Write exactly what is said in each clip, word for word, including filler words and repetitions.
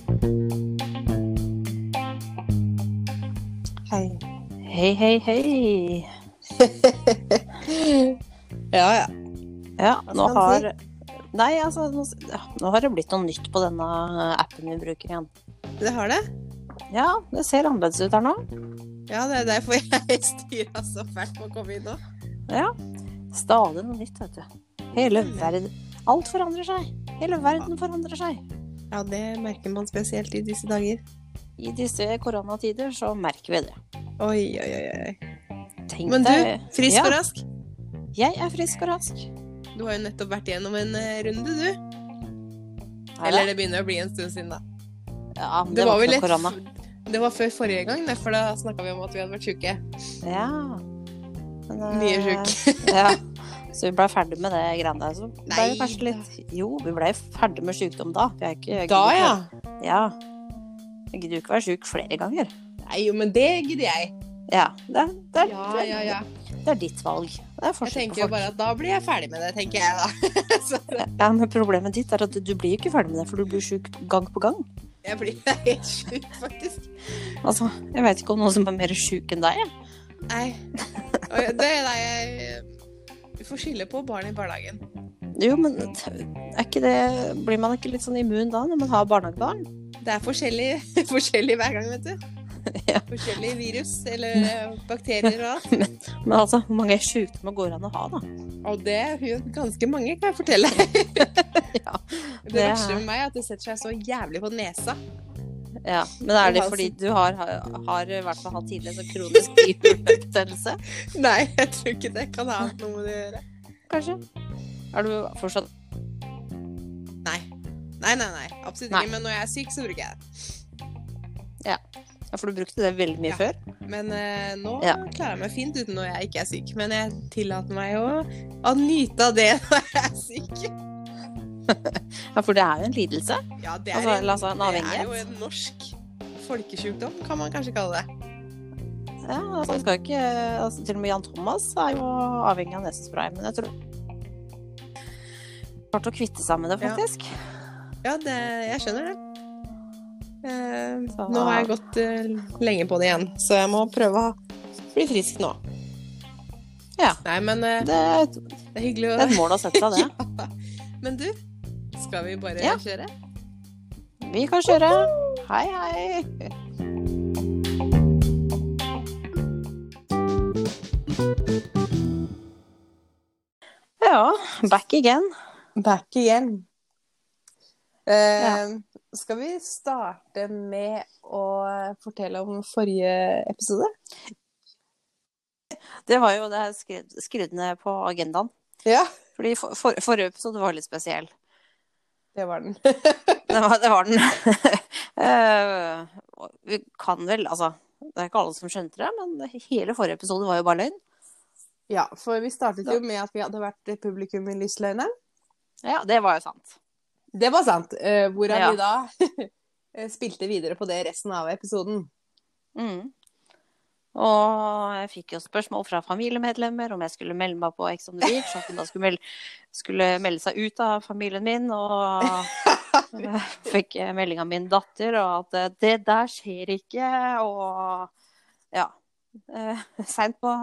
Hei. Hei, hei, hei. Ja, ja. Ja, Hva nå skal man har... Nei, altså, nå, ja, nå har det blitt noe nytt på denne appen vi bruker igjen. Det har det? Ja, det ser annerledes ut her nå. Ja, det er derfor jeg styrer så fælt på å komme inn nå. Ja, stadig noe nytt, vet du. Hele verden... Alt forandrer seg. Hele verden forandrer seg. Ja, det merker man spesielt i disse dager. I disse koronatider så merker vi det. Oi, oi, oi, oi. Tenk Men du, deg- frisk ja, og rask. Jeg er frisk og rask. Du har jo nettopp vært gjennom en eh, runde, du. Er Eller det? det begynner å bli en stund siden da. Ja, det, Det var var vel ikke litt... noe korona. Det var før forrige gang, for da snakket vi om at vi hadde vært syke. Ja. Men, eh, Mye syk. Ja. Så vi ble ferdig med det greiene der. Så ble Nei vi kanskje litt... Jo, vi ble ferdig med sykdom da. Vi er ikke, jeg Da, gidder ja. ikke- Ja. Jeg gidder jo ikke være syk flere ganger. Nei, jo, men det gidder jeg. Ja, det, er- det, er, Ja, ja, ja. det er ditt valg. Det er Jeg forskjell tenker på jo folk. bare at da blir jeg ferdig med det, tenker jeg da. Så Ja, men problemet ditt er at du blir ikke ferdig med det, for du blir syk gang på gang. jeg blir helt syk, faktisk. Altså, jeg vet ikke om noen som er mer syk enn deg. jeg. Nei. Og det er da jeg... Vi får skylde på barn i barnehagen. Jo, men er ikke det... Blir man ikke litt sånn immun da, når man har barnehagebarn? Det er forskjellig, forskjellig hver gang, vet du. Ja. Forskjellige virus eller eh, bakterier og alt. Men, men altså, hvor mange sykdommer går an å ha da? Og det er jo ganske mange, kan jeg fortelle. Ja, Det det er- verste med meg er at det setter seg så jævlig på nesa. Ja, men er det Og fordi halsen. du har, har, har i hvert fall hatt tidligere så kronisk bihulebetennelse? Nei, jeg tror ikke det kan ha noe med det å gjøre. Kanskje? Er du fortsatt... Nei. Nei, nei, nei. Absolutt Nei. ikke. Men når jeg er syk, så bruker jeg det. Ja, for du brukte det veldig mye Ja. før? Men eh, nå Ja. klarer jeg meg fint uten når jeg ikke er syk. Men jeg tillater meg å, å nyte av det når jeg er syk. Ja, for det er jo en lidelse. Ja, det er, Altså, en, eller altså, en det er avhengighet. jo en norsk folkesjukdom, kan man kanskje kalle det. Ja, altså, jeg skal ikke... Altså, til og med Jan Thomas er jo avhengig av nesespray, men jeg tror... Klart å kvitte seg med det, Ja. faktisk. Ja, det, jeg skjønner det. Eh, Så- nå har jeg gått eh, lenge på det igjen, så jeg må prøve å bli frisk nå. Ja. Nei, men eh, Det er et, det er hyggelig å... det er et mål å sette seg det. Ja. Men du, skal vi bare Ja. kjøre? Vi kan kjøre. Hei, hei. Ja, back again. Back again. Eh, Ja. Skal vi starte med å fortelle om forrige episode? Det var jo det jeg skrev, skrev ned på agendaen. Ja, Fordi for, for, forrige episode var litt spesiell. det var den. Det var, det var den. Eh, vi kan vel, altså, det er ikke alle som skjønte det, men hele forrige episode var jo bare løgn. Ja, for vi startet jo med at vi hadde vært publikum i Lysløgnen. Ja, det var jo sant. Det var sant, eh, hvorav Ja. vi da spilte videre på det resten av episoden. Mm. Og jeg fikk jo spørsmål fra familiemedlemmer om jeg skulle melde meg på Ex on the Beach, at hun da skulle melde, skulle melde seg ut av familien min, og jeg fikk melding av min datter, og at det der skjer ikke, og ja, eh, sent på...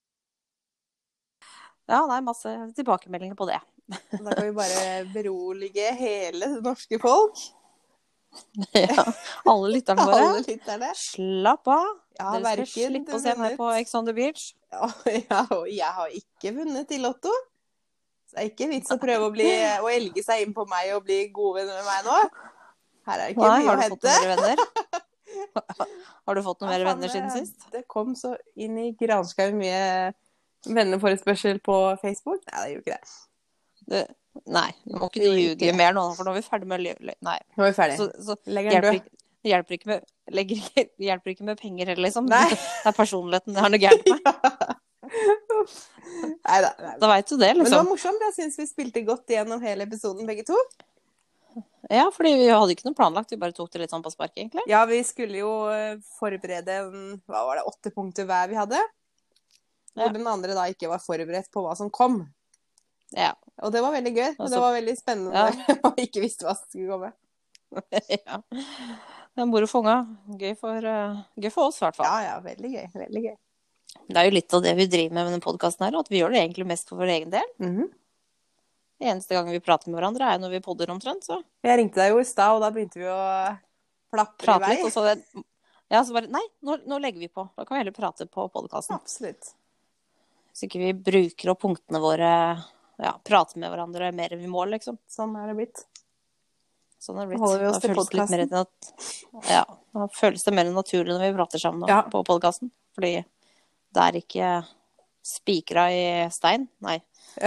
Ja, det er masse tilbakemeldinger på det. Da kan vi bare berolige hele det norske folk. Ja, alle lytterne våre. Alle lytterne. Slapp av. Jeg har Dere skal hverken slippe å se meg på Ex on the Beach. Ja, og jeg har ikke vunnet i Lotto. Så det er ikke vits å prøve å, bli, å elge seg inn på meg og bli gode venner med meg nå. Her er det ikke Nei, mye har å du fått noen hente. mer venner? Har du fått noen mer Ja, venner faen, siden det- sist? Det kom så inn i granskau mye venneforespørsel på Facebook. Nei, det gjorde ikke det. Du, nei, nå må ikke Det du gjorde ljuge ikke. mer nå, for nå er vi ferdig med å lyve. Nei, Nå er vi ferdig. så, så Legger den hjelper død. ikke, hjelper ikke med, legger, ikke- hjelper ikke med penger heller, liksom. Nei. Det er personligheten det har noe gærent med. Neida, nei. Da vet du det, Men det var liksom. morsomt. Jeg synes vi spilte godt gjennom hele episoden, begge to. Ja, fordi vi hadde ikke noe planlagt, vi bare tok det litt sånn på spark, egentlig. Ja, vi skulle jo eh, forberede en- hva var det, åtte punkter hver vi hadde. Hvor Ja. den andre da ikke var forberedt på hva som kom. Ja. Og det var veldig gøy. Og Altså, det var veldig spennende ja. når man ikke visste hva som skulle komme. Ja. Det er moro for unga. Gøy for, uh, gøy for oss, i hvert fall. Ja, ja, veldig gøy. Veldig gøy. Det er jo litt av det vi driver med med denne podcasten her, at vi gjør det egentlig mest for vår egen del. Mhm. Det eneste gangen vi prater med hverandre er når vi podder omtrent, så Jeg ringte deg jo i stad, og da begynte vi å plapre i prate vei. litt, og så det, ja, så bare, nei, nå, nå legger vi på. Da kan vi heller prate på podcasten. Absolutt. Så ikke vi bruker opp punktene våre, ja, prate med hverandre mer enn vi må, liksom. Sånn er det blitt. Sånn er det blitt. Holder vi oss Da til føles det litt mer podcasten. nat- ja, da føles det mer naturlig når vi prater sammen nå, Ja. på podcasten. Fordi det er ikke spikra i stein. Nei.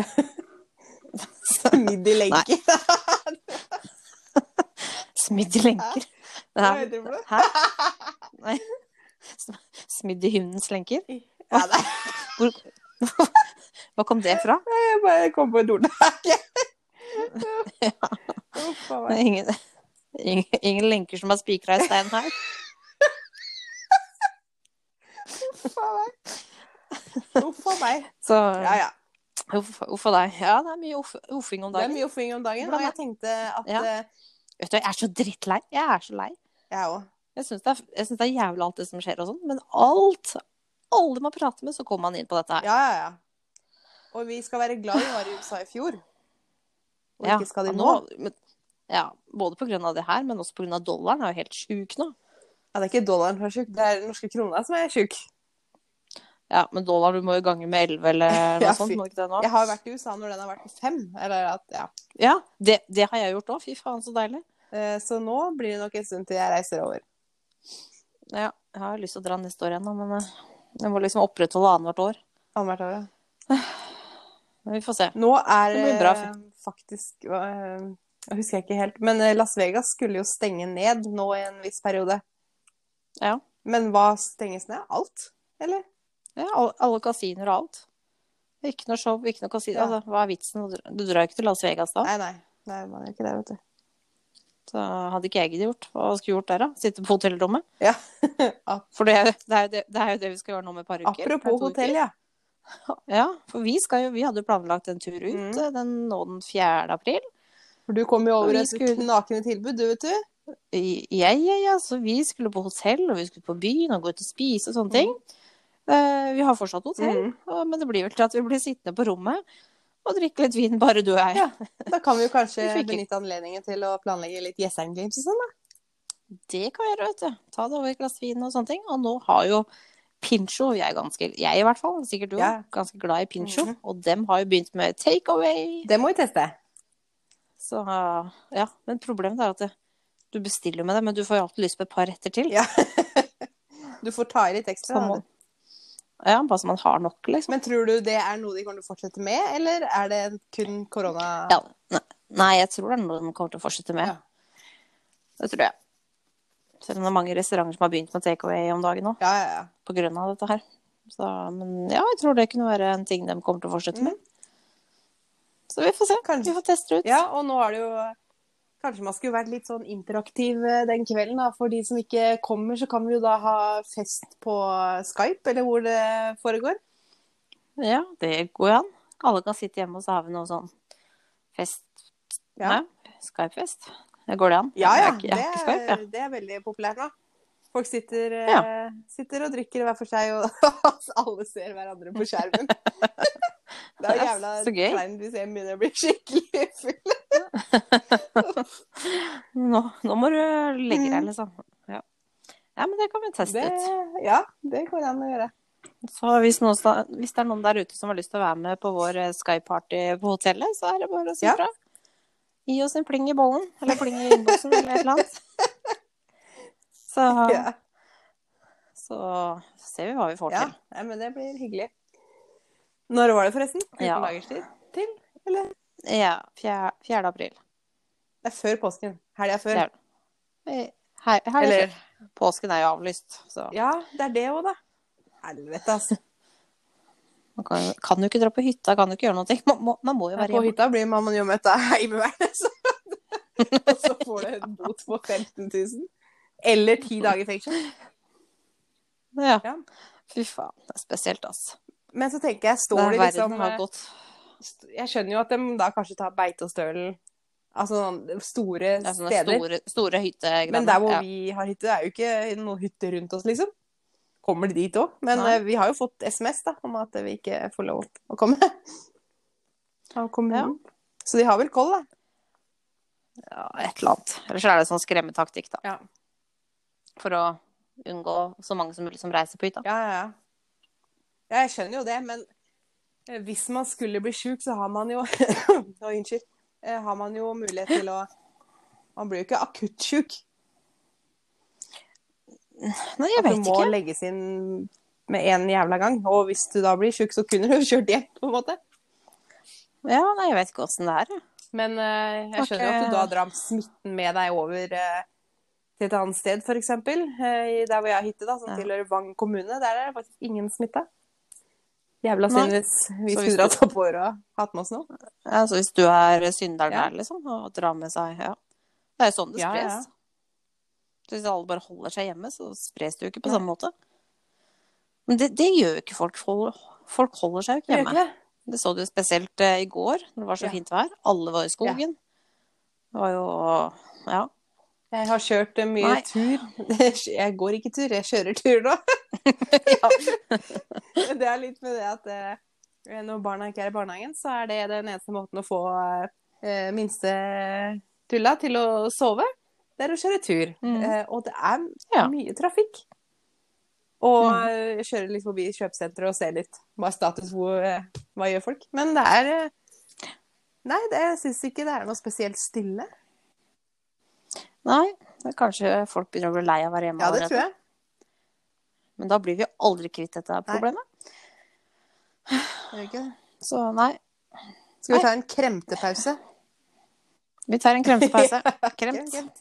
Smidd i lenker. Smidd i lenker. Det Hva er- heter det for noe? Hæ? Nei. Smidd i hundens lenker. Ja, nei. Hvor... Hva kom det fra? Jeg bare kom på et ord. Ja. Uff a Det meg. er ingen, ingen, ingen lenker som er spikra i stein her. Uff a meg. Uff a meg. Så Ja, ja. uff, uff a deg. Ja, det er mye uff, uffing om Det er dagen. mye oppfing om dagen, og jeg tenkte at Ja. eh, Vet du, jeg er så drittlei. Jeg er så lei. jeg òg. Jeg syns det, er- jeg synes det er jævlig alt det som skjer og sånn, men alt, alle man prater med, så kommer man inn på dette her. Ja, ja, ja. Og vi skal være glad vi var i U S A i fjor. Og Ja, ikke skal de og nå. men, ja, både på grunn av det her, men også på grunn av dollaren er jo helt sjuk nå. Ja, det er ikke dollaren som er sjuk, det er den norske krona som er sjuk. Ja, men dollar, du må jo gange med elleve eller noe Ja, sånt, fy. må du ikke det nå? Jeg har jo vært i U S A når den har vært på fem. Eller at, ja. Ja, det, det har jeg gjort også. Fy faen, så deilig. Eh, Så nå blir det nok en stund til jeg reiser over. Ja, jeg har lyst til å dra neste år igjen, da, men eh, jeg må liksom opprettholde annethvert år. Annethvert år, ja. Men vi får se. Nå er Det blir bra. eh, faktisk eh, Jeg husker ikke helt, men eh, Las Vegas skulle jo stenge ned nå i en viss periode. Ja, Men hva stenges ned? Alt? Eller? ja alle, alle kasinoer og alt. Ikke noe show, ikke noe kasino. Ja. Altså, hva er vitsen? Du drar jo ikke til Las Vegas da. Nei, nei. Nei, man gjør ikke det, vet du. Så hadde ikke jeg giddet gjort. Hva skulle jeg gjort der da? Sitte på hotellrommet? Ja. For det, er- det, er jo det, det er jo det vi skal gjøre nå med et par uker. Apropos To hotell, uker. ja. Ja, for vi, skal jo, vi hadde jo planlagt en tur ut Mm. eh, den, nå den fjerde april. For du kom jo Og over vi et skulle- knakende tilbud, du, vet du. I- Ja, ja, ja, så vi skulle på hotell, og vi skulle på byen og gå ut og spise og sånne ting. Eh, vi har fortsatt hotell, Mm. og, men det blir vel til at vi blir sittende på rommet og drikke litt vin, bare du og jeg. Ja. Da kan vi jo kanskje Vi fikk- benytte anledningen til å planlegge litt Jessheim Games og sånn, da. Det kan vi gjøre, vet du. Ta det over et glass vin og sånne ting. Og nå har jo Pincho, jeg er ganske, jeg i hvert fall, sikkert du, Ja. ganske glad i Pincho, Mhm. og dem har jo begynt med takeaway. Det må vi teste. Så ja, men problemet er at det, du bestiller med det, men du får jo alltid lyst på et par retter til. Ja. Du får ta i litt ekstra. Så Da, må, du. ja, bare så man har nok, liksom. Men tror du det er noe de kommer til å fortsette med, eller er det kun korona? Ja, ne- nei, jeg tror det er noe de kommer til å fortsette med. Ja. Det tror jeg. Selv om det er mange restauranter som har begynt med takeaway om dagen nå, Ja, ja, ja. på grunn av dette her. Så, men ja, jeg tror det kunne være en ting de kommer til å fortsette med. Så vi får se. Kanskje. Vi får teste det ut. Ja, og nå er det jo Kanskje man skulle vært litt sånn interaktiv eh, den kvelden, da. For de som ikke kommer, så kan vi jo da ha fest på Skype, eller hvor det foregår. Ja, det går jo an. Alle kan sitte hjemme, og så har vi noe sånn fest. Ja. Nei, Skype-fest. Det går det an? Ja, ja. Jeg har ikke, Det jeg har ikke Skype, er, ja. det er veldig populært nå. Folk sitter, eh, Ja. sitter og drikker hver for seg, og alle ser hverandre på skjermen. Det er jo Ja, jævla så gøy. kleint hvis en begynner å bli skikkelig full. Nå, nå må du legge deg, Mm. liksom. Ja. ja, men det kan vi teste Det, ut. ja, det går an å gjøre. Så hvis, noen, sta- hvis det er noen der ute som har lyst til å være med på vår eh, Skype-party på hotellet, så er det bare å si Ja. fra. Gi oss en pling i bollen, eller pling i innboksen, eller et eller annet. Så, Ja, så ser vi hva vi får ja. til. Nei, men det blir hyggelig. Når var det forresten? fjorten Ja. dagers tid til? Eller? Ja, fjerde, fjerde april. Det er før påsken. Helga før. Det er- Her, her er Eller- det før. Påsken er jo avlyst, så Ja, det er det òg, da. Helvete, altså. man kan, kan jo ikke dra på hytta, kan jo ikke gjøre noe. Man må, man må jo være På hjemme. hytta blir man jo møtt av Heimevernet, så og så får du en bot på femten tusen. Eller ti dager fengsel. Ja. Ja. Fy faen, det er spesielt, altså. Men så tenker jeg, står Der de verden liksom har gått. Jeg skjønner jo at de da kanskje tar Beitostølen Altså store Det er sånne steder. store, store hyttegreier. Men der hvor ja. vi har hytte, det er jo ikke noen hytte rundt oss, liksom. Kommer de dit også. Men Nei. uh, vi har jo fått sms da, om at vi ikke får lov å komme av kommunen. Ja. Så de har vel koll, da. Ja, et eller annet. Ellers er det sånn skremmetaktikk, da. Ja. For å unngå så mange som mulig som reiser på hytta. Ja, ja, ja. Ja, jeg skjønner jo det, men hvis man skulle bli syk, så har man jo Å, unnskyld. Har man jo mulighet til å Man blir jo ikke akutt syk. Nei, jeg vet ikke. At du må legges inn med en jævla gang. Og hvis du da blir syk, så kunne du kjørt hjem, på en måte. Ja, nei, jeg vet ikke hvordan det er. Men uh, jeg skjønner jo okay. at du da drar smitten med deg over uh, til et annet sted, for eksempel. Uh, der hvor jeg har hytte, da, som ja. tilhører Vang kommune. Der er det faktisk ingen smitte. Jævla synd hvis vi skulle dratt opp vår og hatt med oss noe. Ja, så hvis du er synderen ja. der, liksom, og drar med seg, ja. Det er jo sånn det spres. Ja, ja. Så hvis alle bare holder seg hjemme, så spres det jo ikke på ja. samme måte. Men det, det gjør jo ikke folk. Folk holder seg jo ikke hjemme. Det, ikke. det så du spesielt uh, i går, når det var så ja. fint vær. Alle var i skogen. Ja. Det var jo, ja. Jeg har kjørt uh, mye Nei. tur. Jeg går ikke tur, jeg kjører tur nå. ja. Det er litt med det at uh, når barna ikke er i barnehagen, så er det den eneste måten å få uh, minste tulla til å sove. Det er å kjøre tur. Mm. Uh, og det er ja. mye trafikk. Og mm. jeg kjører litt forbi kjøpesenteret og ser litt hva er status, hvor, hva gjør folk. Men det er Nei, det, jeg synes ikke det er noe spesielt stille. Nei, det er kanskje folk begynner å bli lei av å være hjemme. Ja, det tror jeg. Men da blir vi aldri kvitt dette problemet. Nei. Det gjør ikke det. Så nei. Skal vi ta en kremtepause? Vi tar en kremtepause. Kremt. Kremt.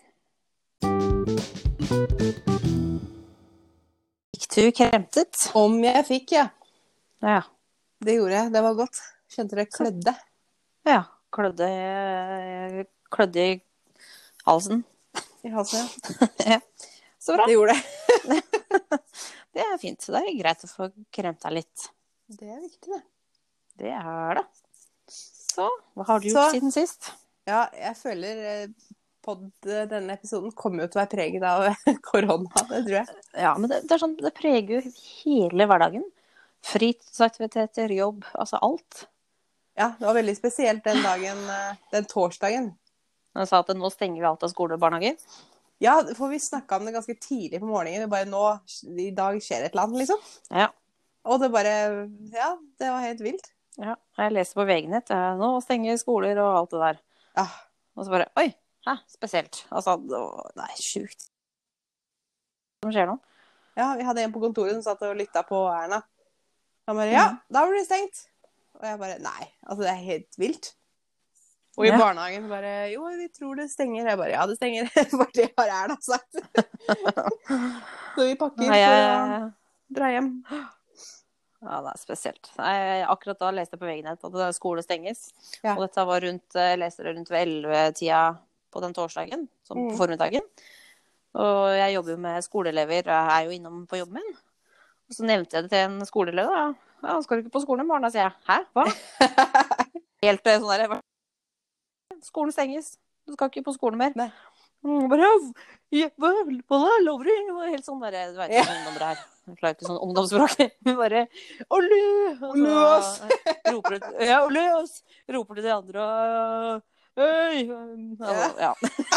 Fikk du kremtet? Om jeg fikk, ja. Ja. Det gjorde jeg. Det var godt. Kjente det klødde. Ja. Klødde, klødde i halsen. I halsen, ja. Så bra. Det gjorde det. Det er fint. Det er greit å få kremt deg litt. Det er viktig, det. Det er det. Så, hva har du gjort Så, siden sist? Ja, jeg føler pod, denne episoden kommer jo til å være preget av korona, det tror jeg. Ja, men det, det er sånn, det preger jo hele hverdagen. Fritidsaktiviteter, jobb, altså alt. Ja, det var veldig spesielt den dagen, den torsdagen. Han sa at nå stenger vi alt av skole og barnehager. Ja, for vi snakket om det ganske tidlig på morgenen. Vi bare nå, i dag skjer et eller annet, liksom. Ja. Og det bare, ja, det var helt vilt. Ja, jeg leser på V G-nett. Nå stenger skoler og alt det der. Ja. Og så bare, oi, hæ, spesielt. Altså, det er sjukt. Hva skjer nå? Ja, vi hadde en på kontoret som satt og lyttet på Erna. Han bare, ja, da blir det stengt. Og jeg bare, nei, altså det er helt vilt. Og i ja. barnehagen bare, jo, vi tror det stenger. Jeg bare, ja, det stenger. For det har Erna sagt. Så vi pakker Nei, jeg... for å dra hjem. Ja, det er spesielt. Nei, akkurat da leste jeg på V G-nett at skole stenges. Ja. Og dette var rundt, jeg leste det rundt ved elleve-tida på den torsdagen, som mm. på formiddagen. Og jeg jobber jo med skoleelever, jeg er jo innom på jobben min. Og så nevnte jeg det til en skoleelever, da. Ja, skal du ikke på skolen i morgen? Da sier jeg, hæ, hva? Helt sånn der, skolen stenges. Du skal ikke på skolen mer. Nei. Og bare, ja, hva, hva lover du? Det var helt sånn der, du vet ikke hva ungdommer er. Jeg klarer ikke sånn ungdomsspråk. Hun bare, Olø! Olø oss! Roper du, ja, olø oss! Roper du til de andre, og øy! Ja.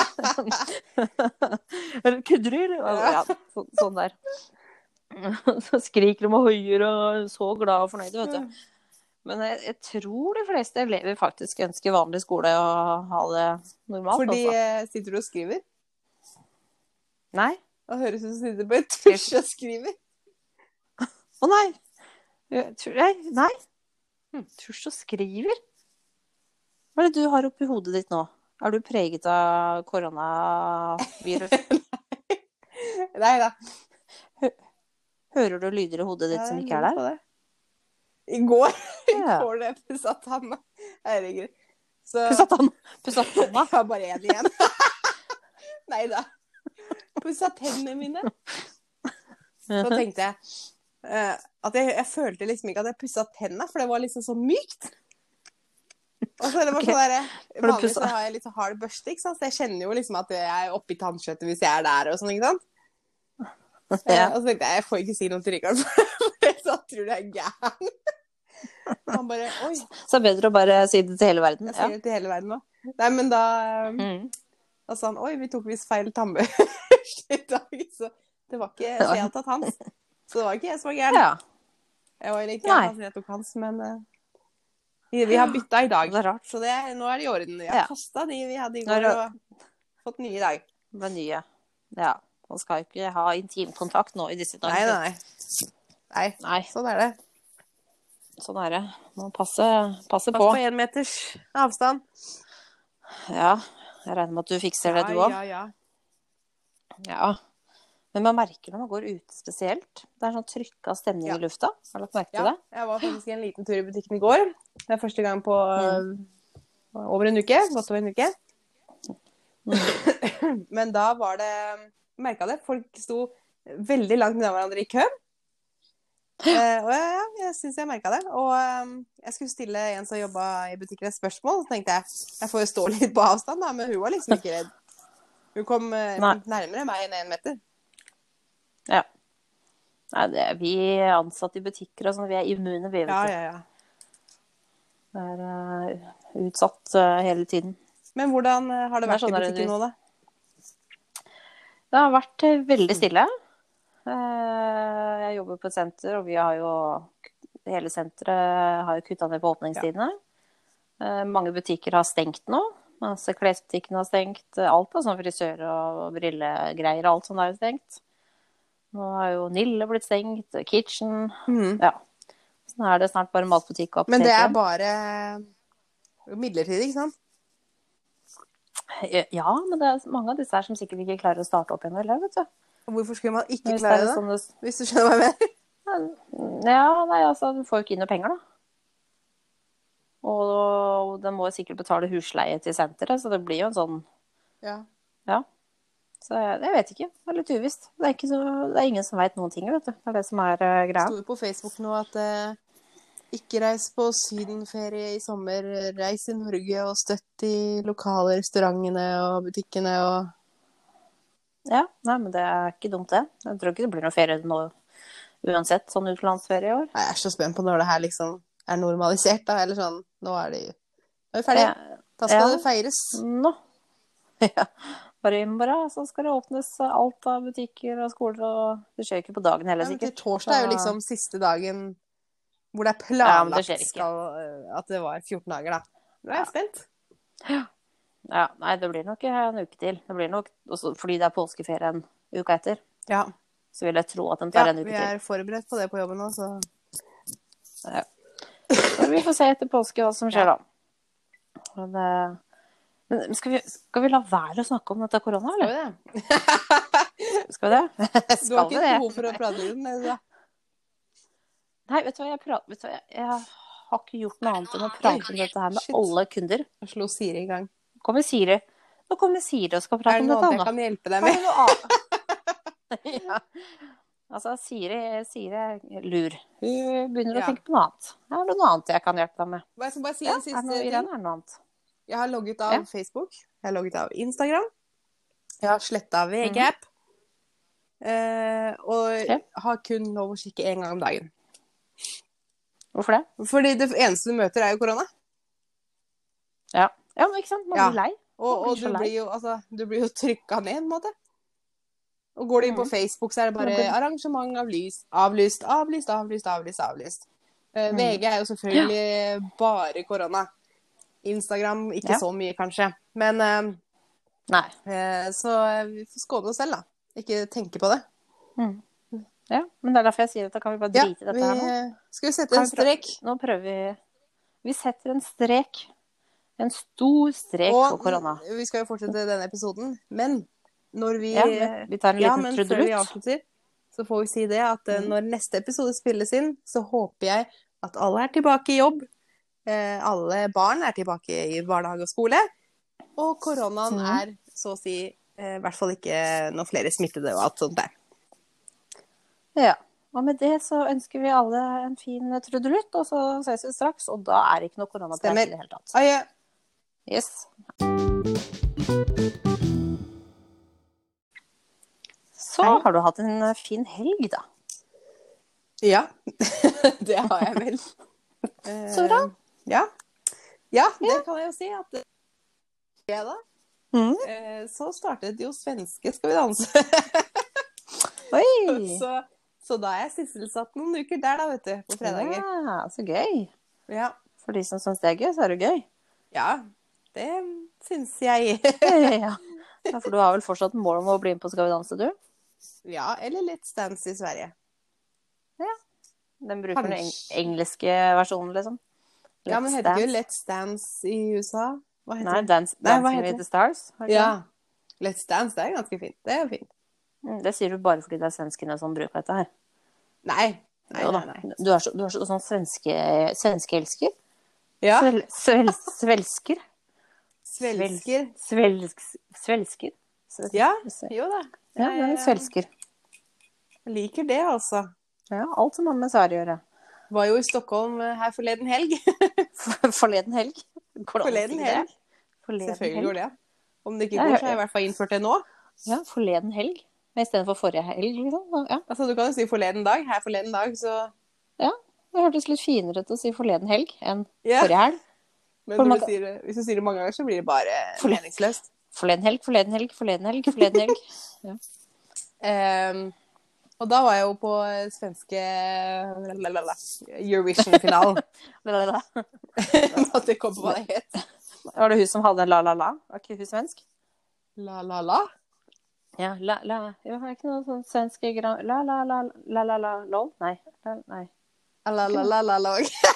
Kødder du, eller? Ja, så, sånn der. Så skriker de og høyer og så glad og fornøyd, vet du. Men jeg, jeg tror de fleste elever faktisk ønsker vanlig skole og ha det normalt. Fordi altså. Sitter du og skriver? Nei. Det høres ut som du sitter på et tusj og skriver. Å nei. Nei. Nei. Hm, tusj og skriver? Hva er det du har oppi hodet ditt nå? Er du preget av koronavirus? Nei da. Hører du lyder i hodet ditt ja, som ikke er der? I går, i går det pusset tanna. Herregud. Så... Pusset tanna? Pusset tanna? Jeg har bare en igjen. Neida. Pusset tennene mine. Så tenkte jeg, uh, at jeg, jeg følte liksom ikke at jeg pusset tennene, for det var liksom så mykt. Og så er det bare Ok. sånn der, Har du vanligvis så pusset? har jeg litt så hard børste, ikke sant? Så jeg kjenner jo liksom at jeg er oppi tannkjøttet hvis jeg er der og sånn, ikke sant? Eh, Ja. og så tenkte jeg, jeg får ikke si noe til Rikard, for så tror du jeg er gæren. Og han bare, oi, Så det er bedre å bare si det til hele verden. jeg Ja. sier det til hele verden nå. Nei, men da, eh, Mm. da sa han, oi, vi tok visst feil tannbørste i dag, så det var ikke, så jeg hadde tatt hans. Så det var ikke jeg som var gæren. Ja. Jeg var litt Nei. gæren, altså jeg tok hans, men eh, vi, vi har byttet i dag. Det er rart. Så det, nå er det i orden. Jeg har Ja. kastet de vi hadde i Nå er går, det- og fått nye i dag. Det nye. Ja. Man skal jo ikke ha intimkontakt nå i disse Nei, dager. nei, nei. Nei, Nei, sånn er det. sånn er det. Man passe, passe Pass på. på en meters avstand. Ja, jeg regner med at du fikser det, du òg. Ja, ja, Ja. Men man merker når man går ute spesielt. Det er sånn trykka stemning Ja. i lufta. Har du lagt merke ja. til det? Jeg var faktisk en liten tur i butikken i går. Det er første gang på Mm. øh, over en uke. Godt over en uke. Men da var det, merket det, folk sto veldig langt ned hverandre i kø. Eh, og ja, jeg synes jeg merket det. Og um, jeg skulle stille en som jobbet i butikken et spørsmål, så tenkte jeg, jeg får jo stå litt på avstand da, men hun var liksom ikke redd. Hun kom eh, Nei. nærmere meg enn en meter. Ja. Nei, det er vi ansatte i butikker og sånn, vi er immune, vi, vet Ja, du. ja, ja. Det er eh, utsatt eh, hele tiden. Men hvordan eh, har det Det er vært sånn i der butikken du- nå da? Det har vært eh, veldig stille. Eh, Jeg jobber på et senter, og vi har jo hele senteret har jo kuttet ned på åpningstidene. Eh, Mange butikker har stengt nå. Altså, klesbutikken har stengt. Alt av sånn frisør og brillegreier, alt sånt er jo stengt. Nå har jo Nille blitt stengt, Kitchen. Ja. Så nå er det snart bare matbutikk og apotek. Men det er igjen. bare midlertidig, ikke sant? Ja, men det er mange av disse her som sikkert ikke klarer å starte opp igjen, eller, vet du. Hvorfor skulle man ikke Hvis det klare er det? sånn det... Hvis du skjønner hva jeg mener. Ja, nei, altså, du får jo ikke inn noe penger, da. Og de må jo sikkert betale husleie til senteret, så det blir jo en sånn, Ja. ja. Så jeg, jeg vet ikke, det er litt uvisst. Det er, ikke så, det er ingen som vet noen ting, vet du. Det er det som er uh, Det greia. sto jo på Facebook nå at eh, ikke reis på sydenferie i sommer, reis i Norge og støtt de lokale restaurantene og butikkene og... Ja, nei, men det er ikke dumt det. Jeg tror ikke det blir noe ferie nå uansett, sånn utenlandsferie i år. Nei, jeg er så spent på når det her liksom er normalisert da, eller sånn, nå er de, nå er vi ferdige. Ja. Da skal Ja. det feires. Nå. Ja, bare i morgen så skal det åpnes alt av butikker og skoler, og det skjer ikke på dagen heller, Ja, men til sikkert. torsdag er jo Så- liksom siste dagen hvor det er Ja, men det planlagt skjer ikke. skal, eh, at det var fjorten dager da. Nå er jeg spent. Ja, nei, det blir nok en uke til. Det blir nok, også fordi det er påskeferien uka etter, Ja, så vil jeg tro at den ja tar en uke vi til. er forberedt på det på jobben nå, så... Ja. Så vi får se etter påske hva som skjer Ja. da. Men, eh, men skal, vi, skal vi la være å snakke om dette korona, Skal eller? vi det? Skal vi det? Du har Skal vi ikke det? behov for å prate litt om det, da? Nei, vet du hva, jeg, prater, vet du hva, jeg, jeg har ikke gjort noe annet enn å prate om dette her med Shit. alle kunder. Jeg slo Siri i gang. Nå kommer Siri. Nå kommer Siri og skal Er prate det om noe dette, annet jeg Anna. kan hjelpe deg Er med? det noe annet? Ja. Altså, Siri, Siri er lur. Hun begynner Ja. å tenke på noe annet. Er det noe annet jeg kan hjelpe deg med? Jeg skal bare si Ja, en er det siste noe, ting. Irene, er det noe annet? Jeg har logget av Ja. Facebook. Jeg har logget av Instagram. Jeg har slettet V G-app. eh, og Ja. har kun lov å kikke en gang om dagen. Hvorfor det? Fordi det eneste du møter er jo korona. Ja, ja men ikke sant? Man Ja. blir lei. Og, Man blir og så du lei. blir jo, altså, du blir jo trykket ned, en måte. Og går du inn på Mhm. Facebook, så er det bare Man blir- arrangement avlyst, avlyst, avlyst, avlyst, avlyst, avlyst. Eh, Mhm. V G er jo selvfølgelig bare korona. Instagram ikke Ja. så mye, kanskje. Men eh, Nei. eh, så vi får skåne oss selv, da. Ikke tenke på det. Mm. Ja, men det er derfor jeg sier at da kan vi bare Ja, drite i dette vi, her nå. skal vi sette Kan en vi prøve- strek? Nå prøver vi. Vi setter en strek. En stor strek for Og korona. vi skal jo fortsette denne episoden, men når vi Ja, men vi tar en Ja, liten men før vi trudelutt. avslutter, så får vi si det at eh, Mm. når neste episode spilles inn, så håper jeg at alle er tilbake i jobb. Eh, alle barn er tilbake i barnehage og skole. Og koronaen Mm. er så å si eh, i hvert fall ikke noen flere smittede og alt sånt der. Ja. Og med det så ønsker vi alle en fin trudelutt, og så ses vi straks. Og da er det ikke noe koronapreik i det hele tatt. Adjø. Yes. Så Hei. har du hatt en fin helg, da. Ja, det har jeg vel. Så bra. Eh, Ja. Ja, det kan jeg jo si at det fredag, Mm. eh, så startet jo svenske Skal vi danse. Oi! så, så da er jeg sysselsatt noen uker der da, vet du, på fredager. Ja, så gøy. Ja, For de som synes det er gøy, så er det gøy. ja det synes jeg. Ja. Ja, for du har vel fortsatt mål om å bli med på Skal vi danse, du? Ja, eller Let's Dance i Sverige. Den bruker den eng Kanskje. engelske versjonen, liksom. Ja, men Let's heter ikke Dance. Let's Dance i U S A? Hva heter Nei, det? Dance, Nei, hva Dancing heter with det? the Stars. har du ikke Ja, Let's Dance, det er ganske fint. Det er jo fint. det? Mm, Det sier du bare fordi det er svenskene som bruker dette her. Nei, nei, Jo da. nei, nei. Du er så, du er så sånn svenske, svenskeelsker. Ja, Svel, svel, svelsker. svelsker. Svelsk, svelsker. Svel- Ja, svel- jo da. Ja, men Jeg, svelsker. jeg liker det, altså. Ja, alt som har med Sverige å gjøre. Var jo i Stockholm eh, her forleden helg. For- Forleden helg. Går det an å Forleden si det? helg. Forleden Selvfølgelig helg. går det. Om det ikke Ja, går, ja, så har jeg i hvert fall innført det nå. Ja, forleden helg. I stedet for forrige helg, liksom. Ja, Altså, du kan jo si forleden dag. Her forleden dag, så ja. Det hørtes litt finere ut å si forleden helg enn Ja. forrige helg. Men For når man du sier det, hvis du sier det mange ganger, så blir det bare Forleden. meningsløst. Forleden helg, forleden helg, forleden helg, forleden helg. Ehm, og da var jeg jo på svenske lalalala, Eurovision-finalen. La-la-la. Måtte komme på hva det het. Var det hun som hadde la-la-la? Var ikke hun svensk? La-la-la? Ja, la-la. Jo, er ikke noe sånn svensk gra- La-la-la, la-la-la, lol? Nei. La- Nei. La-la-la-la-la.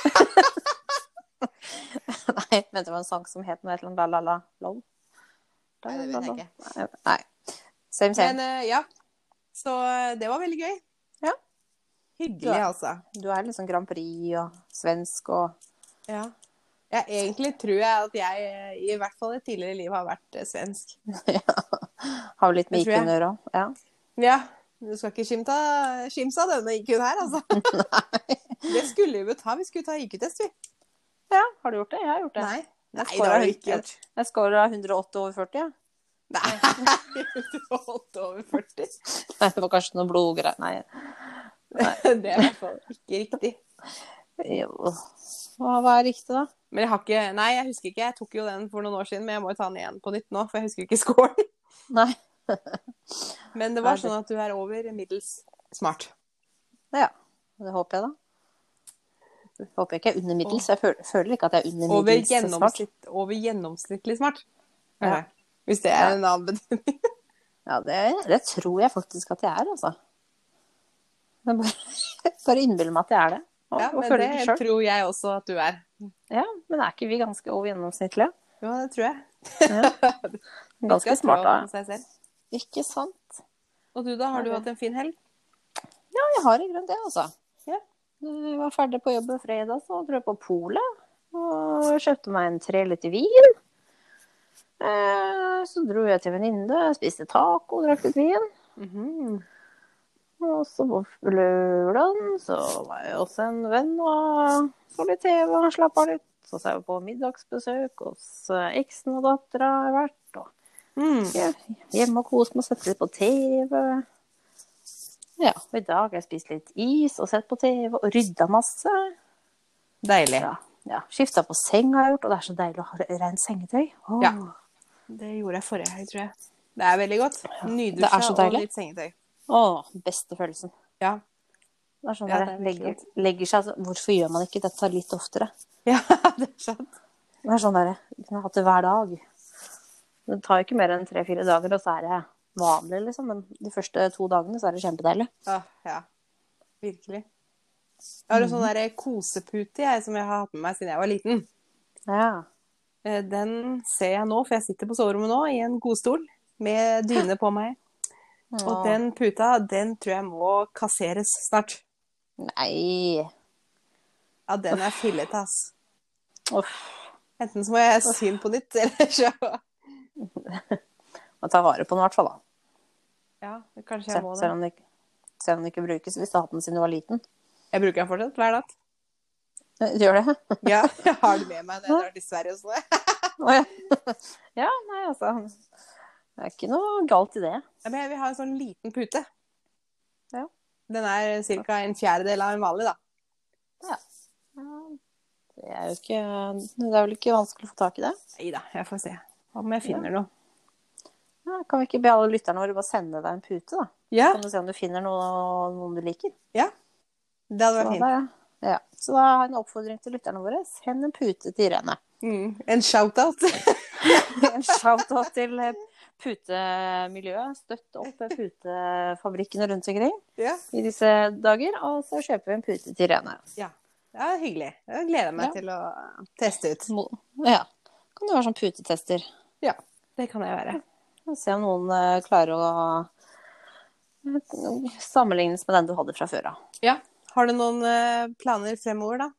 Nei, vent, det var en sang som het noe et eller annet la-la-la, lol. Nei, det vet jeg ikke. Nei. Same, same. Men eh, ja, så eh, det var veldig gøy. Ja. Hyggelig, Ja. altså. Du er liksom Grand Prix og svensk og Ja. Ja, egentlig tror jeg at jeg eh, i hvert fall i et tidligere liv har vært eh, svensk. har jo litt med Det tror jeg. I Q-en å gjøre òg. Ja. Ja, du skal ikke skimte skimse av denne I Q-en her, altså. Det skulle vi jo ta. Vi skulle ta I Q-test, vi. Ja, har du gjort det? Jeg har gjort det. Nei. Jeg Nei, det scorer- har du ikke gjort. Jeg scorer hundre og åtti over førti, ja. Nei, du holdt over førti. Nei, det var kanskje noe blodgreier. Nei. Det er i hvert fall ikke riktig. Jo. Hva, hva er riktig, da? Men jeg har ikke, nei, jeg husker ikke. Jeg tok jo den for noen år siden, men jeg må jo ta den igjen på nytt nå, for jeg husker ikke scoren. Nei. Men det var Nei, det- sånn at du er over middels smart. Ja, det håper jeg da. Jeg håper ikke jeg er under middels. Jeg føler, føler ikke at jeg er under Over, middels smart. gjennomsnitt, over gjennomsnittlig smart. Ja. Hvis det er en annen betydning. Ja, det, det tror jeg faktisk at jeg er, altså. Jeg bare, bare innbiller meg at jeg er det. Og, Ja, og men føler det det selv. tror jeg også at du er. Ja, men er ikke vi ganske over gjennomsnittlige? Ja, det tror jeg. Ja. Ganske Skal smart, trå da. på seg selv. Ikke sant? Og du da, har du Ja, det- hatt en fin helg? Ja, jeg har i grunnen det, altså. Ja. Jeg var ferdig på jobb fredag, så dro jeg på polet. Og kjøpte meg en tre liter vin. Eh, Så dro jeg til venninne, spiste taco, drakk litt vin. Mhm. Og så på lørdagen så var jeg også en venn og så litt T V og slapp av litt. Så så jeg på middagsbesøk hos eh, eksen og dattera har jeg vært. Og Mm. ja, hjemme og kose meg og sette litt på T V. Ja, og i dag har jeg spist litt is og sett på T V og rydda masse. Deilig. Ja, ja. Skifta på seng har jeg gjort, og det er så deilig å ha rent sengetøy. Åh. Ja. Det gjorde jeg forrige helg, tror jeg. Det er veldig godt. det er Nydusja så og deilig. litt sengetøy. Åh, beste følelsen. Ja. Det er sånn Ja, der, det er legger, virkelig. legger seg, altså, hvorfor gjør man ikke dette litt oftere? Ja, det er sant. Det er sånn der, jeg kunne hatt det hver dag. Det tar ikke mer enn tre-fire dager, og så er det vanlig, liksom. Men de første to dagene så er det kjempedeilig. Ja, ja. Virkelig. Jeg har en sånn der kosepute jeg, som jeg har hatt med meg siden jeg var liten. Ja. Eh, Den ser jeg nå, for jeg sitter på soverommet nå i en godstol med dyne på meg. Og Åh. den puta, den tror jeg må kasseres snart. Nei. Ja, den er fillete, ass. Uff. Enten så må jeg sy den på nytt, eller så... Må ta vare på den i hvert fall, da. Ja, kanskje Se- jeg må det. Selv om det ikke, Se om den ikke brukes hvis du har hatt den siden du var liten. Jeg bruker den fortsatt hver natt. Gjør det? Ja, jeg har det med meg når jeg drar til Sverige og sånn. Å, ja. Ja, nei, altså. Det er ikke noe galt i det. Ja, men jeg vil ha en sånn liten pute. Ja. Den er cirka en fjerdedel av en vanlig, da. Ja. Det er jo ikke, det er vel ikke vanskelig å få tak i det? Neida, jeg får se om jeg finner noe. Ja, kan vi ikke be alle lytterne våre bare sende deg en pute, da? Ja. Kan du se om du finner noe, noen du liker? Ja, det hadde vært Så fint. da, ja. Så da har jeg en oppfordring til lytterne våre. Send en pute til Irene. Mm. En shout-out. En shout-out til putemiljøet. Støtt opp putefabrikkene rundt omkring Ja. i disse dager. Og så kjøper vi en pute til Irene. Ja, det er hyggelig. Jeg gleder meg Ja. til å teste ut. Ja, kan du være sånn putetester. Ja, det kan jeg være. Se om noen uh, klarer å uh, sammenlignes med den du hadde fra før av. Ja. Har du noen uh, planer fremover, da?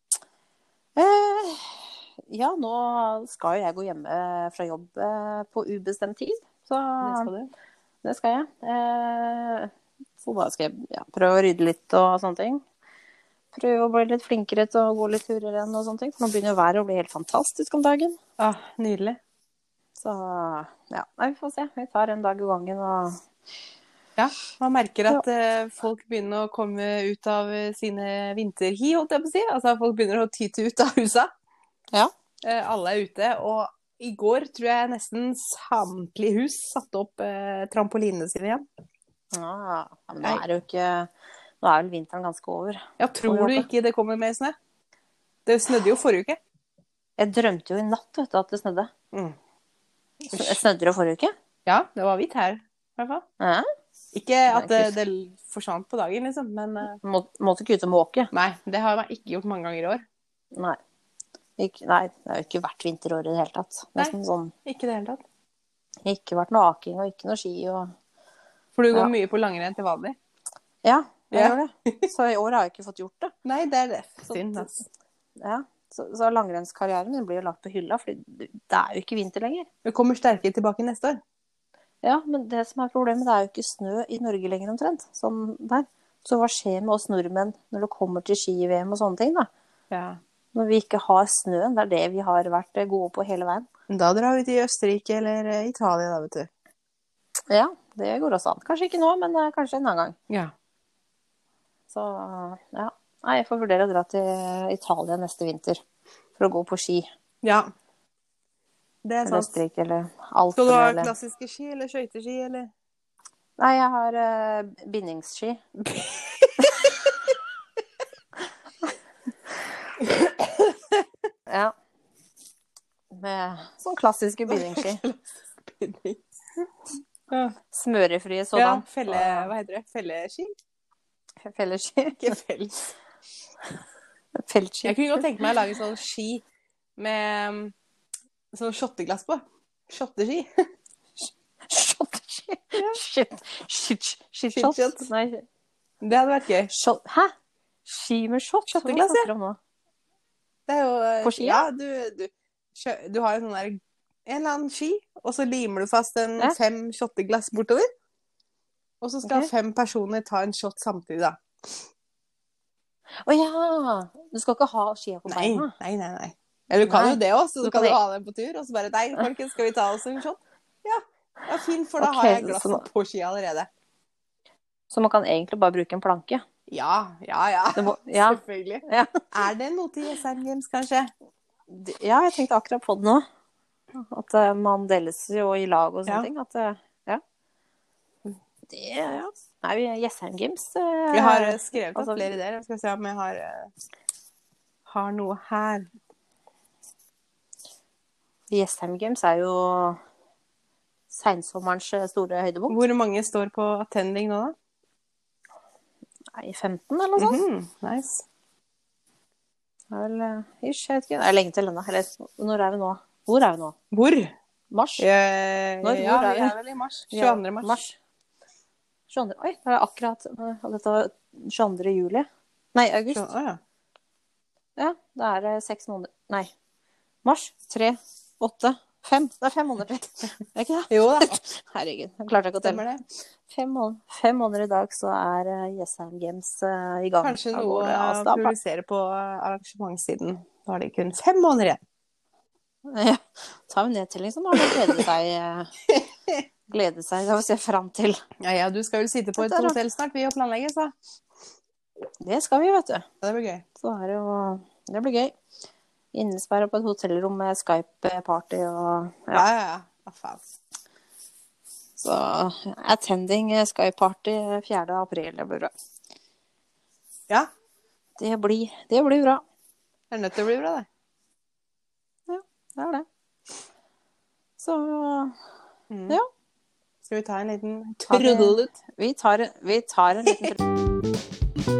Uh, ja, nå skal jo jeg gå hjemme fra jobb uh, på ubestemt tid. Så Det skal du. det skal jeg. Uh, så da skal jeg ja, prøve å rydde litt og sånne ting. Prøve å bli litt flinkere til å gå litt turer igjen og sånne ting. For nå begynner jo været å bli helt fantastisk om dagen. Ah, nydelig. Så ja, nei, vi får se. Vi tar en dag i gangen og Ja, man merker at uh, folk begynner å komme ut av uh, sine vinterhi, holdt jeg på å si. Altså, folk begynner å tyte ut av husa. Ja. Uh, alle er ute, og i går tror jeg nesten samtlige hus satte opp uh, trampolinene sine igjen. Ja, men nå er det jo ikke Nå er vel vinteren ganske over. Ja, tror du ikke det kommer mer snø? Det snødde jo forrige uke. Jeg drømte jo i natt, vet du, at det snødde. Mm. Snødde det forrige uke? Ja, det var hvitt her, i hvert fall. Ja. Ikke at det, det forsvant på dagen, liksom, men uh, Må, måtte ikke ut og måke. Nei, det har jeg ikke gjort mange ganger i år. Nei. Ikke, nei, det har jo ikke vært vinterår i det hele tatt. Nesten sånn. Ikke det hele tatt. Ikke vært noe aking og ikke noe ski og For du går Ja. mye på langrenn til vanlig? Ja, jeg Ja. gjør det. Så i år har jeg ikke fått gjort det. Nei, det er det. Så- Synd, altså. Ja. Så, så langrennskarrieren min blir jo lagt på hylla, for det er jo ikke vinter lenger. Du kommer sterkere tilbake neste år. Ja, men det som er problemet, det er jo ikke snø i Norge lenger omtrent. Sånn der. Så hva skjer med oss nordmenn når det kommer til ski-V M og sånne ting, da? Ja. Når vi ikke har snøen, det er det vi har vært gode på hele veien. Da drar vi til Østerrike eller eh, Italia, da, vet du. Ja, det går også an. Kanskje ikke nå, men eh, kanskje en annen gang. Ja. Så ja, nei, jeg får vurdere å dra til Italia neste vinter for å gå på ski. Ja. Det er Eller sant. Østerrike, eller Skal du Alpene, ha eller klassiske ski eller skøyteski, eller? Nei, jeg har uh, bindingsski. Ja. Med sånn klassiske bindingsski. Ja. Smørefrie Ja, sådan. felle, hva heter det? Felleski? Felleski. Ikke felles. Feltski. Jeg kunne godt tenke meg å lage sånn ski med um, sånn shotteglass på. Shotteski. Shotteski. Shit. Shit. Shit. Shit Shot. shot. Nei. Det hadde vært gøy. Shot. Hæ? Ski med shot? Hva Shotteglass, snakker du om nå? Det er jo eh, På ski, Ja, ja? du, du, kjø- du har jo sånn der en eller annen ski, og så limer du fast en Ja. fem shotteglass bortover. Og så skal Ok. fem personer ta en shot samtidig, da. Å ja! Du skal ikke ha skia på Nei, beina? nei, nei. nei. Eller du kan Nei. jo det også, så Du du kan kan jo det. ha den på tur, og så bare Nei, folkens, skal vi ta oss en shot? Ja. Ja, fint, for da Ok, har jeg så glasset nå- på ski allerede. Så man kan egentlig bare bruke en planke? Ja, ja, ja. Det må, ja. Selvfølgelig. Ja. Er det noe til Jessheim Games, kanskje? D- ja, jeg tenkte akkurat på det nå. At eh, man deles jo i lag og sånne Ja. ting. At, eh, ja. Det, ja. Nei, vi er Jessheim Games. eh, Jeg har eh, skrevet opp altså- flere ideer. Jeg skal se om jeg har, eh, har noe her. Jessheim Games er jo seinsommerens eh, store høydepunkt. Hvor mange står på attending nå, da? Nei, femten eller noe sånt. Mhm, nice. Det er vel eh, ish, jeg vet ikke. Det er lenge til ennå. Eller når er vi nå? Hvor er vi nå? Hvor? Mars? Eh, Når, ja, hvor er vi vi? er vel i mars. tjueandre mars. tjueandre. Oi, det er akkurat eh, dette var tjueandre juli. Nei, august. Å, ja. Ja, det er eh, seks måneder. Nei. Mars. Tre, åtte, fem. Det er fem måneder til. Er det ikke det? Jo da, Herregud, jeg klarte ikke å telle. stemmer det. fem måneder, fem måneder i dag, så er uh, Jessheim Games uh, i gang. Kanskje noe å publisere på arrangementssiden. Da har de kun fem måneder igjen. Ja, tar vi nedtelling, så må man glede seg, uh, glede seg, det vil se frem til. Ja, ja, du skal vel sitte på et hotell snart, vi å planlegge, så. Det skal vi, vet du. Det blir gøy. Så er det jo, det blir gøy. Innesperret på et hotellrom med Skype-party og... Ja, ja, ja. Ja, faen. Så attending Skype-party fjerde april, det blir bra. Ja. Det blir, det blir bra. Det er nødt til å bli bra, det. Ja, det er det. Så, mm. ja. Skal vi ta en liten trudelutt? Vi tar, vi tar en liten trudelutt.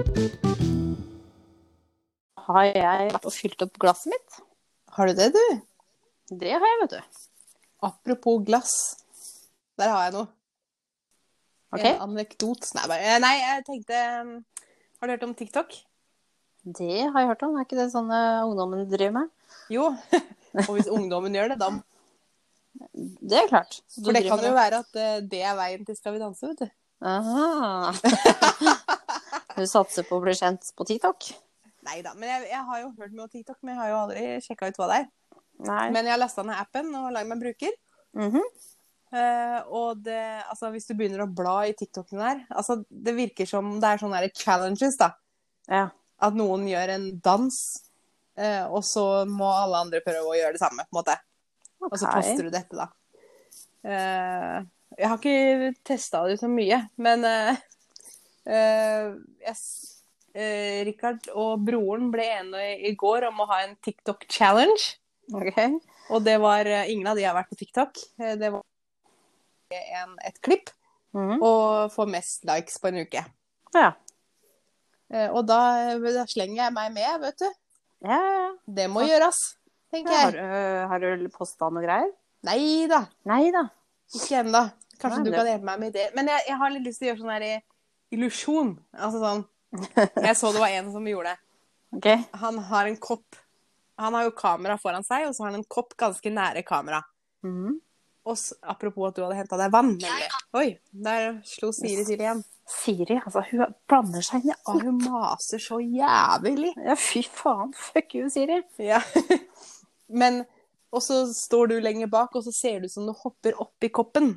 Har jeg vært og fylt opp glasset mitt? Har du det, du? Det har jeg, vet du. Apropos glass. Der har jeg noe. Okay. En anekdot. Nei, bare, nei, jeg tenkte... Har du hørt om TikTok? Det har jeg hørt om. Er ikke det sånn ungdommen driver med? Jo. Og hvis ungdommen gjør det, da... Det er klart. For det kan jo være at det er veien til Skal vi danse, vet du. Aha. Du satser på å bli kjent på TikTok? Neida, men jeg, jeg har jo hørt mye om TikTok, men jeg har jo aldri sjekket ut hva det er. Nei. Men jeg har lastet ned appen og laget meg bruker. Mhm. Uh, og det, altså hvis du begynner å bla i TikToken der, altså det virker som det er sånne her challenges da. Ja. At noen gjør en dans, uh, og så må alle andre prøve å gjøre det samme, på en måte. Okay. Og så poster du dette da. Uh, jeg har ikke testet det så mye, men uh, uh, jeg, uh, Rikard og broren ble enige i går om å ha en TikTok-challenge. Ok. Og det var, uh, ingen av de har vært på TikTok. Uh, det var En, et klipp, mm-hmm. og få mest likes på en uke. Ja. Eh, og da, da slenger jeg meg med, vet du. Ja, ja. Det må ja. gjøres, tenker ja, jeg. Har, har du postet noe greier? Neida. Neida. Ikke enda. Kanskje Nei, du det... kan hjelpe meg med det. Men jeg, jeg har litt lyst til å gjøre sånn her illusjon. Altså sånn, jeg så det var en som gjorde det. Okay. Han har en kopp. Han har jo kamera foran seg, og så har han en kopp ganske nære kamera. Mhm. Og apropos at du hadde hentet deg vann, nemlig. Oi, der slo Siri til igjen. Siri, altså, hun blander seg inn i alt. Hun maser så jævlig. Ja, fy faen. Fuck you, Siri. Ja. Men, og så står du lenger bak, og så ser du som du hopper opp i koppen.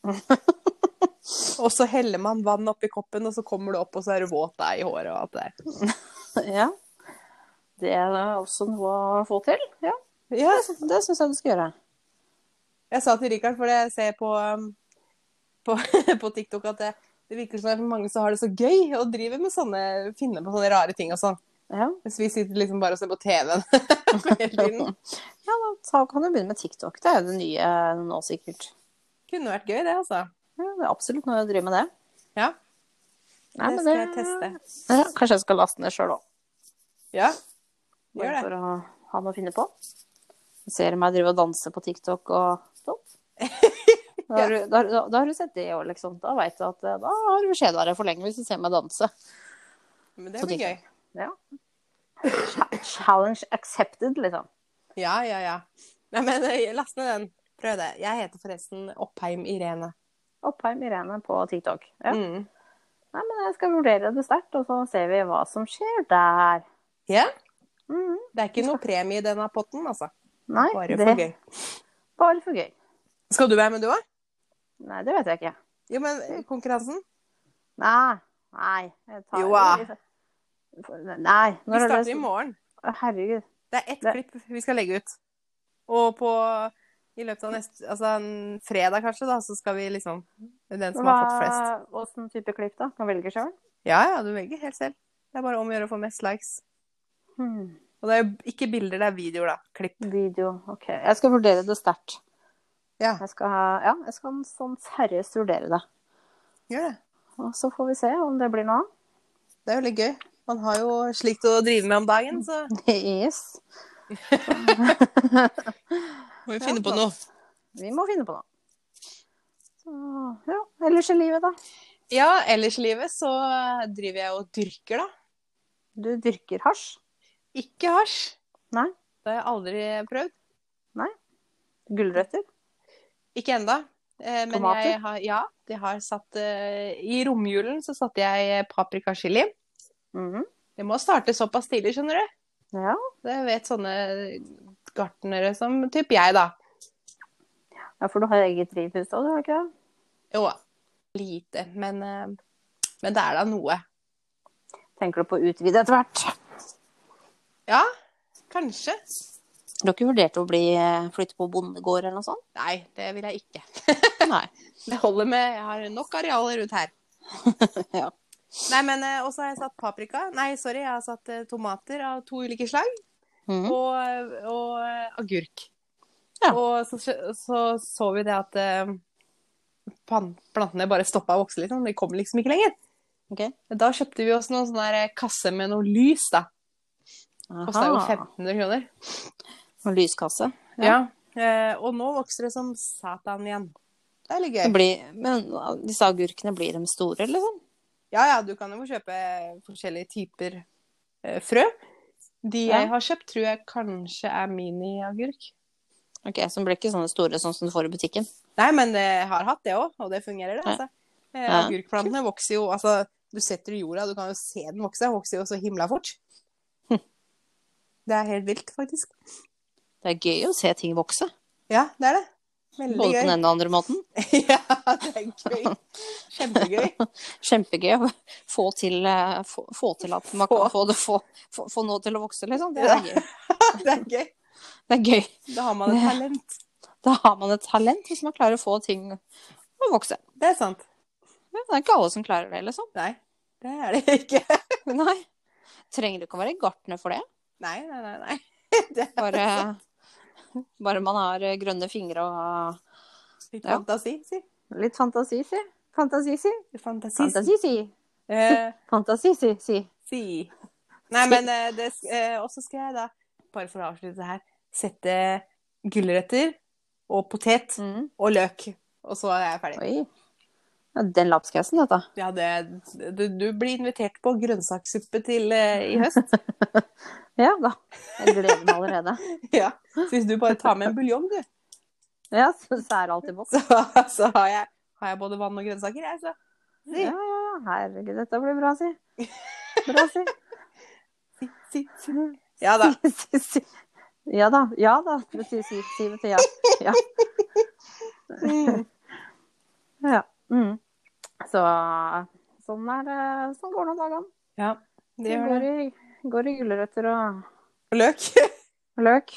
Og så heller man vann opp i koppen, og så kommer du opp, og så er du våt deg i håret og alt det der. Ja. Det er også noe å få til. Ja, ja. Det, det synes jeg du skal gjøre. Jeg sa til Rikard, for jeg ser på, på, på TikTok at det, det virker som at mange så har det så gøy å drive med sånne, finne på sånne rare ting og sånn. Ja. Hvis vi sitter liksom bare og ser på T V-en hele tiden. Ja, da kan du begynne med TikTok. Det er jo det nye nå sikkert. Kunne vært gøy det, altså. Ja, det er absolutt noe å drive med det. Ja. Nei, det skal det... jeg teste. Ja, kanskje jeg skal laste ned selv også. Ja, gjør det. For å ha noe å finne på. Jeg ser meg drive og danse på TikTok og sånn. Da, har du, da, da, da har du sett det også, liksom. Da vet du at da har du skjedd deg for lenge hvis du ser meg danse. Men det blir gøy. Ja. Challenge accepted, liksom. Ja, ja, ja. Nei, men last ned den. Prøv det. Jeg heter forresten Oppheim Irene. Oppheim Irene på TikTok. Ja. Mm. Nei, men jeg skal vurdere det sterkt, og så ser vi hva som skjer der. Ja? Mm. Det er ikke noe premie i denne potten, altså. Nei, bare det... for gøy. Bare for gøy. Skal du være med du også? Nei, det vet jeg ikke. Jo, men konkurransen? Nei, nei. Jeg tar... Jo, ja. Nei. Vi starter i morgen. Herregud. Det er ett det... klipp vi skal legge ut. Og på, i løpet av neste, altså en fredag kanskje da, så skal vi liksom, den som Hva... har fått flest. Hvordan type klipp da? Kan du velge selv? Ja, ja, du velger helt selv. Det er bare om å gjøre å få mest likes. Hmm. Og det er jo ikke bilder, det er videoer da. Klipp. Video, ok. Jeg skal vurdere det sterkt. Ja. Jeg skal, ha, ja, jeg skal sånn seriøst vurdere det. Gjør det. Og så får vi se om det blir noe. Det er jo litt gøy. Man har jo slikt å drive med om dagen, så... Yes. Må vi finne ja, på noe. Vi må finne på noe. Så, ja, ellers i livet da? Ja, ellers i livet så driver jeg og dyrker da. Du dyrker hasj? Ikke hasj. Nei. Det har jeg aldri prøvd. Nei. Gulrøtter? Ikke enda. Eh, men Tomater? jeg har, ja, jeg har satt eh, I romjulen så satte jeg paprikachili. Mhm. Det må starte såpass tidlig, skjønner du. Ja. Det vet sånne gartnere som typ jeg, da. Ja, for du har eget drivhus også, du har ikke det? Jo, lite, men, eh, men det er da noe. Tenker du på å utvide etter hvert? Ja, kanskje. Du har ikke vurdert å bli, flytte på bondegård eller noe sånt? Nei, det vil jeg ikke. Nei. Det holder med, jeg har nok arealer rundt her. Ja. Nei, men eh, også har jeg satt paprika. Nei, sorry, jeg har satt eh, tomater av to ulike slag. Mhm. Og, og eh, agurk. Ja. Og så, så så vi det at eh, pan- plantene bare stoppet å vokse litt. De kom liksom ikke lenger. Ok. Da kjøpte vi oss noen sånne der kasse med noe lys, da. Kostet jo Aha. femten hundre kroner. Og lyskasse. Ja. Eh, og nå vokser det som satan igjen. Det er litt Det gøy. blir, men disse agurkene, blir de store, liksom? Ja, ja, du kan jo kjøpe forskjellige typer eh, frø. De Ja. jeg har kjøpt, tror jeg kanskje er mini-agurk. Ok, så de blir ikke sånne store sånn som du får i butikken? Nei, men jeg har hatt det også, og det fungerer det, Ja. altså. Eh, Ja. agurkplantene vokser jo, altså, du setter i jorda, du kan jo se den vokse, den vokser jo så himla fort. Hm. Det er helt vilt, faktisk. Det er gøy å se ting vokse. Ja, det er det. Veldig Både på gøy. den ene og andre måten. Ja, det er gøy. Kjempegøy. Kjempegøy å få til, eh, få, få til at man kan få, det, få, få, få noe til å vokse, liksom. Det er gøy. Det er gøy. Det er gøy. Da har man et talent. Da har man et talent hvis man klarer å få ting å vokse. Det er sant. Ja, det er ikke alle som klarer det, liksom. Nei, det er det ikke. Nei. Trenger du ikke å være gartner for det. Nei, nei, nei, nei. Det er Bare, bare man har grønne fingre og litt ja. fantasi, si. litt fantasi, si. Fantasi, si. Fantasi, Fantasi, si. Eh, Fantasi, si. si. si. Nei, men eh, det, sk- eh, også skal jeg da, bare for å avslutte det her, sette gulrøtter og potet Mm. og løk. Og så er jeg ferdig. Oi. Ja, den lapskassen, dette. Ja, det, du, du blir invitert på grønnsakssuppe til eh, i høst. Ja da. Jeg gleder meg allerede. Ja, så hvis du bare tar med en buljong, du, Ja, så, så er det alltid boks. så, så har, jeg, har jeg både vann og grønnsaker, jeg, så. Si, Ja, ja, ja. Herregud, dette blir bra, si. Bra, si. si, si, si. Ja da. Si, si, si. Ja da. Ja da. Si, si, si, vet du, ja. Ja. Mm. Ja. Mm. Så sånn er det. Sånn går nå dagene. Ja, det Det gjør går det. i, går i gulrøtter og Og løk. løk.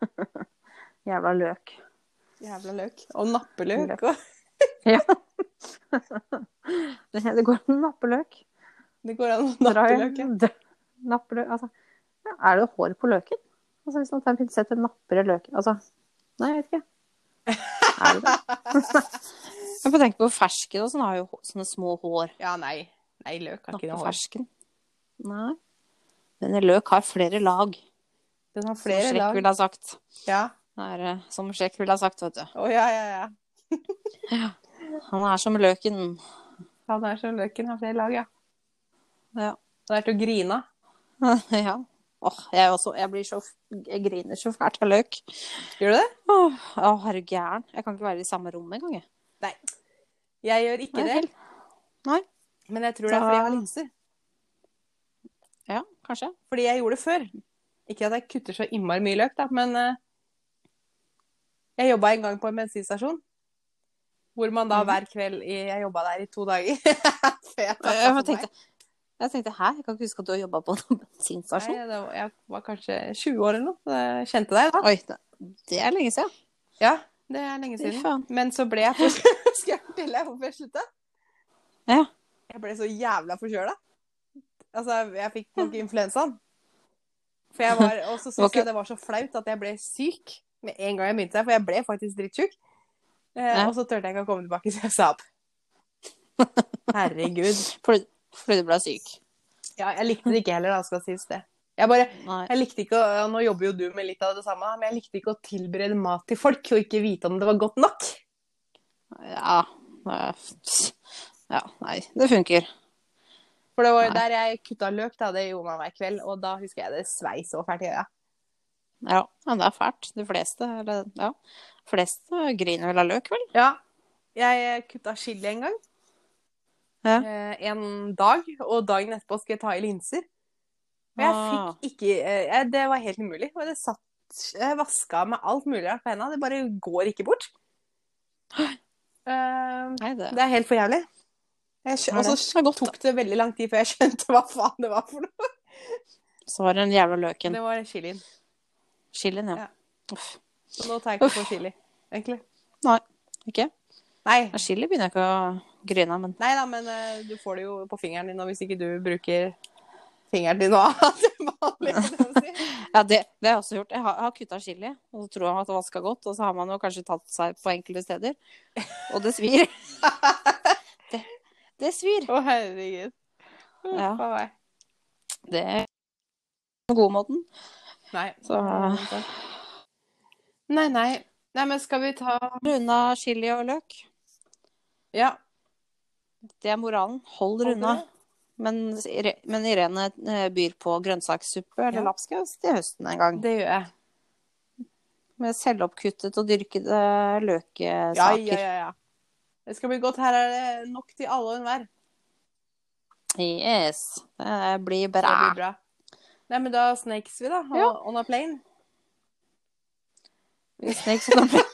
Jævla løk. Jævla løk. Og nappeløk. Løk. Og Ja. Det, det går an å nappe løk. det går an å Dra nappe i- løk, ja. d- Nappe løk. Altså, ja, er det hår på løken? Altså, hvis man tar en pinsett og napper i løken. Altså, nei, jeg vet ikke. Er det det? Jeg får tenke på fersken og sånn, har jo hå- sånne små hår. Ja, nei. Nei, løk har ikke Nappe noe hår. fersken. Nei. Denne løk har flere lag, Den har som flere Shrek lag. ville ha sagt. Ja. Det er, eh, som Shrek ville ha sagt, vet du. Å, ja, ja, ja. Han er som løken. Han er som løken, har flere lag, ja. Ja. Han er til å grine. Ja. Åh, jeg, er også, jeg blir så, jeg griner så fælt av løk. Gjør du det? Åh, åh, er du gæren? Jeg kan ikke være i samme rom engang, jeg. Nei. Jeg gjør ikke Nei, det. helt. Nei. Men jeg tror det er fordi jeg har linser. Ja, kanskje. Fordi jeg gjorde det før. Ikke at jeg kutter så innmari mye løk, da, men eh, jeg jobbet en gang på en bensinstasjon. Hvor man da Mhm. hver kveld i, Jeg jobbet der i to dager. Før jeg tatt Jeg av meg. tenkte, jeg tenkte, hæ? Jeg kan ikke huske at du har jobbet på en bensinstasjon. Nei, det var, jeg var kanskje tjue år eller noe. Så jeg kjente deg da. Oi, det, det er lenge siden. Ja, det er lenge Fy siden. faen. Men så ble jeg Skal jeg fortelle deg hvorfor jeg sluttet? Ja. Jeg ble så jævla forkjøla. Altså, jeg fikk nok influensaen. For jeg var, og så Det var syntes ikke- jeg det var så flaut at jeg ble syk med en gang jeg begynte der, for jeg ble faktisk drittsjuk. Eh, Ja. Og så turte jeg ikke å komme tilbake, så jeg sa opp. Herregud. Fordi, fordi du ble syk. Ja, jeg likte det ikke heller, da, skal sies det. Jeg bare, Nei. jeg likte ikke å, og nå jobber jo du med litt av det samme, men jeg likte ikke å tilberede mat til folk, og ikke vite om det var godt nok. Ja. Ja, nei, det funker. For det var jo Nei. der jeg kutta løk, da, det gjorde man hver kveld, og da husker jeg det svei så fælt i øya. Ja, ja, det er fælt. De fleste, eller, ja, fleste griner vel av løk, vel? Ja, Jeg kutta chili en gang. Ja. Eh, en dag, og dagen etterpå skal jeg ta i linser. Og jeg Ah. fikk ikke eh, Det var helt umulig. Og det satt Jeg vaska med alt mulig rart på hendene. Det bare går ikke bort. Eh, Nei, det, det er helt for jævlig. Jeg skjø- er Og det. så Det er godt, tok det veldig lang tid før jeg skjønte hva faen det var for noe. så var det den jævla løken. Det var chilien. Chilien, ja. Ja. Uff. Så nå tar jeg ikke på chili, egentlig. Nei, ikke? Nei. Ja, chili begynner jeg ikke å grine av, men Nei da, men eh, du får det jo på fingeren din, og hvis ikke du bruker fingeren din nå, til vanlig, kan jeg si. Ja, det, det har jeg også gjort. Jeg har, jeg har kuttet chili, og så tror jeg at det vasker godt, og så har man jo kanskje tatt seg på enkelte steder. Og det svir. det, det svir. Å, herregud. Ja. Hva var jeg? Det er den gode måten. Nei. Så Nei, nei. Nei, men skal vi ta unna chili og løk. Ja. Det er moralen. Hold Hold unna. det. Men, men Irene eh, byr på grønnsakssuppe eller Ja. lapskaus til høsten en gang. Det gjør jeg. Med selvoppkuttet og dyrkede Ja, løksaker. ja, ja, ja. Det skal bli godt. Her er det nok til alle og enhver. Yes. Det blir Det bra. blir bra. Nei, men da snakes vi, da. Ja. On a plane. Vi snakes on a plane.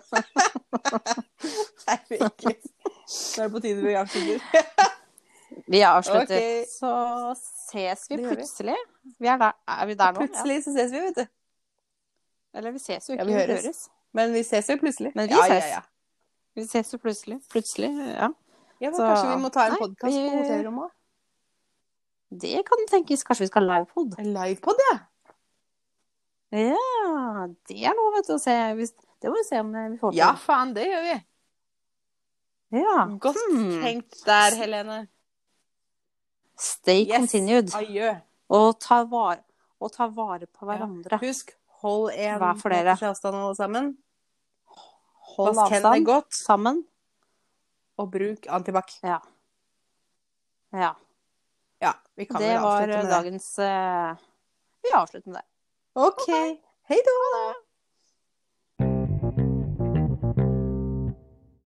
Nei, virkelig. Nå er det på tide vi avslutter. Vi avslutter. Ok. Så ses vi Det gjør vi. plutselig. Vi er, der. Er vi der nå? Ja. Plutselig så ses vi, vet du. Eller vi ses jo Ja, ikke. vi vi høres. høres. Men vi ses jo plutselig. Men vi ja, ses. Ja, ja. Vi ses jo plutselig. Plutselig, ja. Ja, men Så- kanskje vi må ta en Nei, podcast vi- på hotellrommet også? Det kan tenkes. Kanskje vi skal livepod? En livepod, ja. Ja, det er noe, vet du, å se. Hvis, det må vi se om vi får til. Ja, faen, det gjør vi. Ja. Godt Hmm. tenkt der, Helene. Stay Yes. continued. Adjø. Og ta vare, og ta vare på hverandre. Husk, hold en Hva for dere? meters avstand alle sammen. Hold Vask hendene avstand godt, sammen. og bruk antibac. Ja. Ja. Ja, vi kan Det vel var avslutte med det. dagens eh, Vi avslutter med det. Ok. Hei da.